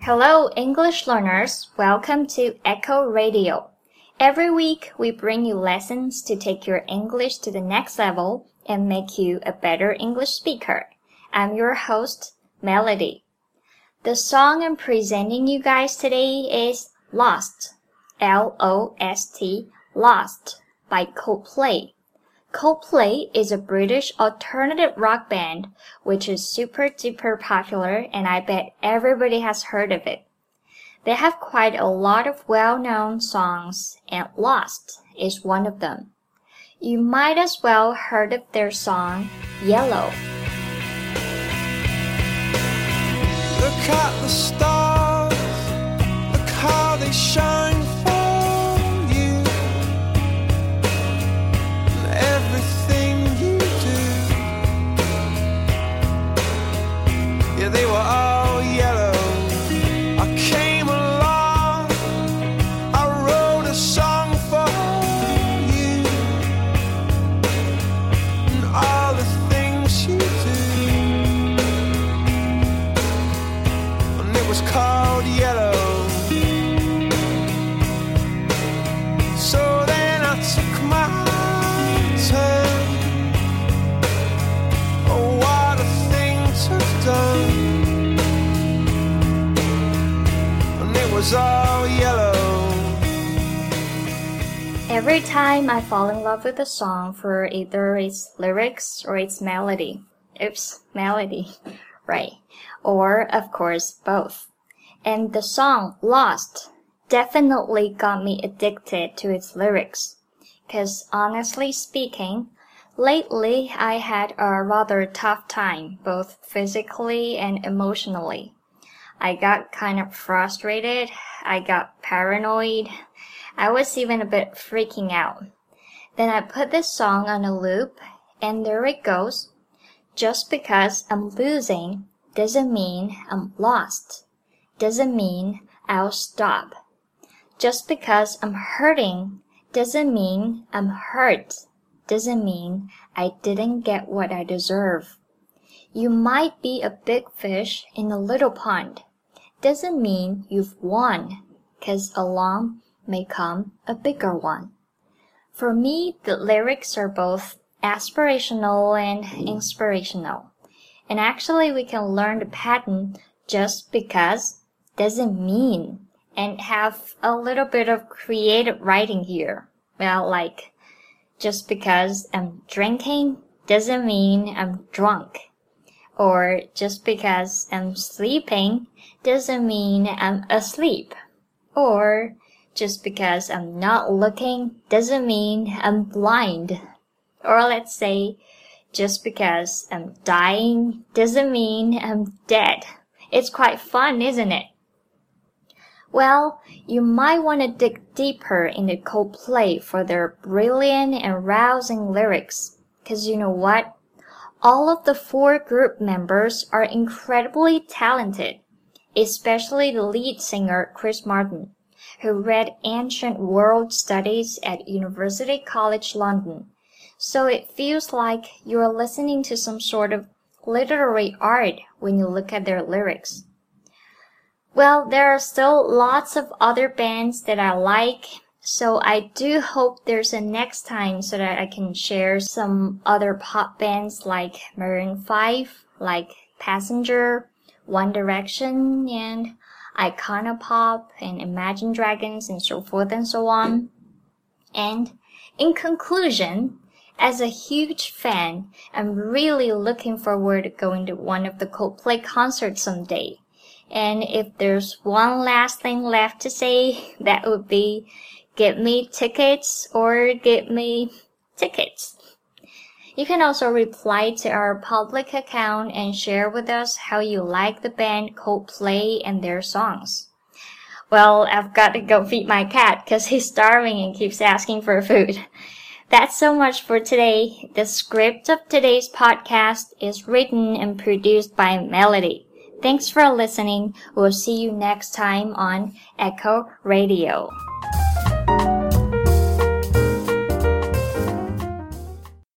Hello, English learners. Welcome to Echo Radio. Every week, we bring you lessons to take your English to the next level and make you a better English speaker. I'm your host, Melody. The song I'm presenting you guys today is Lost, L-O-S-T, Lost by Coldplay.Coldplay is a British alternative rock band which is super duper popular and I bet everybody has heard of it. They have quite a lot of well-known songs and Lost is one of them. You might as well heard of their song Yellow. Look at the stars, look how they shine.They were all yellow. I came along, I wrote a song for you, and all the things you do, and it was called Yellow. So then I took my turn.Oh, what a thing to have done.And it was all yellow. Every time I fall in love with a song for either its lyrics or its melody. Oops, melody. Right. Or, of course, both. And the song Lost definitely got me addicted to its lyrics. 'Cause honestly speaking, lately I had a rather tough time, both physically and emotionally.I got kind of frustrated, I got paranoid, I was even a bit freaking out. Then I put this song on a loop, and there it goes. Just because I'm losing doesn't mean I'm lost. Doesn't mean I'll stop. Just because I'm hurting doesn't mean I'm hurt. Doesn't mean I didn't get what I deserve.You might be a big fish in a little pond. Doesn't mean you've won, 'cause along may come a bigger one. For me, the lyrics are both aspirational and inspirational. And actually we can learn the pattern just because doesn't mean and have a little bit of creative writing here. Well, like, just because I'm drinking doesn't mean I'm drunk.Or just because I'm sleeping doesn't mean I'm asleep. Or just because I'm not looking doesn't mean I'm blind. Or let's say, just because I'm dying doesn't mean I'm dead. It's quite fun, isn't it? Well, you might want to dig deeper into Coldplay for their brilliant and rousing lyrics. 'Cause you know what?All of the 4 group members are incredibly talented, especially the lead singer Chris Martin, who read ancient world studies at University College London. So it feels like you're listening to some sort of literary art when you look at their lyrics. Well, there are still lots of other bands that I like.So I do hope there's a next time so that I can share some other pop bands like Maroon 5, like Passenger, One Direction, and Icona Pop, and Imagine Dragons, and so forth and so on. And in conclusion, as a huge fan, I'm really looking forward to going to one of the Coldplay concerts someday. And if there's one last thing left to say, that would be...Get me tickets or get me tickets. You can also reply to our public account and share with us how you like the band Coldplay and their songs. Well, I've got to go feed my cat because he's starving and keeps asking for food. That's so much for today. The script of today's podcast is written and produced by Melody. Thanks for listening. We'll see you next time on Echo Radio.